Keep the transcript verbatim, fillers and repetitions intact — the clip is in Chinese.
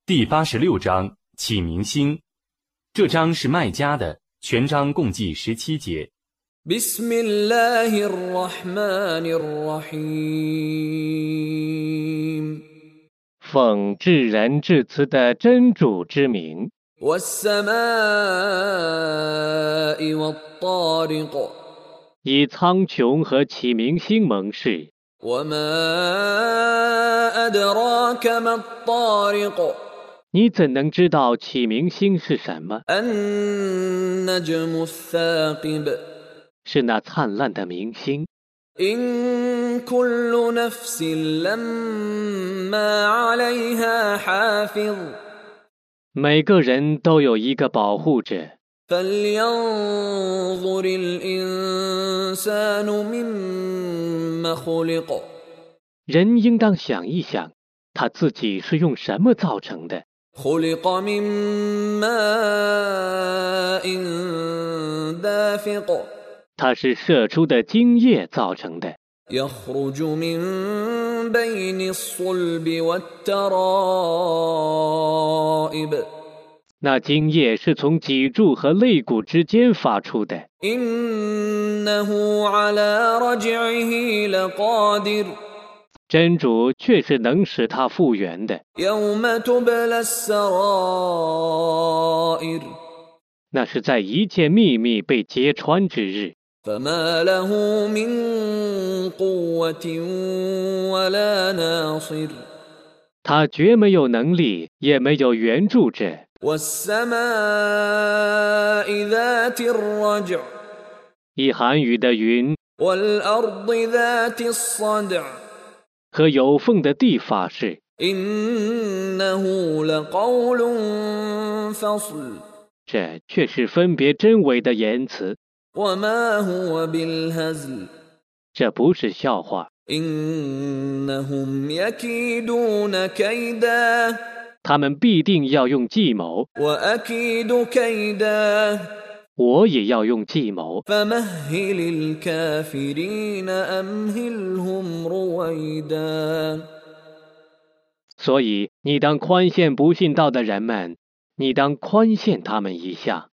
第八十六章启明星。这章是麦加的，全章共计十七节。 بسم الله الرحمن الرحيم 奉至仁至慈的真主之名。 والسماء والطارق 以苍穹和启明星盟誓。 وما أدراك ما الطارق 你怎能知道启明星是什么？ النجم الثاقب 是那灿烂的明星。 إن كل نفس لما عليها حافظ 每个人都有一个保护者。 فلينظر الإنسان مما خلق 人应当想一想，他自己是用什么造成的？ خلق من ماء دافق 他是射出的精液造成的。 يخرج من بين الصلب والترائب 那精液是从脊柱和肋骨之间发出的。 إنه على رجعه لقادر 真主却是能使它复原的。 يوم تبلى السرائر 那是在一切秘密被揭穿之日。 فما له من قوة ولا ناصر 他绝没有能力，也没有援助者。 والسماء ذات الرجع 一涵雨的云 والأرض ذات الصدع 和有缝的地发誓， إنه لقول فصل 这却是分别真伪的言辞， وما هو بالهزل 这不是笑话。 إنهم يكيدون كيدا 他们必定要用计谋， وأكيد كيدا 我也要用计谋。 فمهل الكافرين أمهلهم رويدا 所以你当宽限不信道的人们，你当宽限他们一下。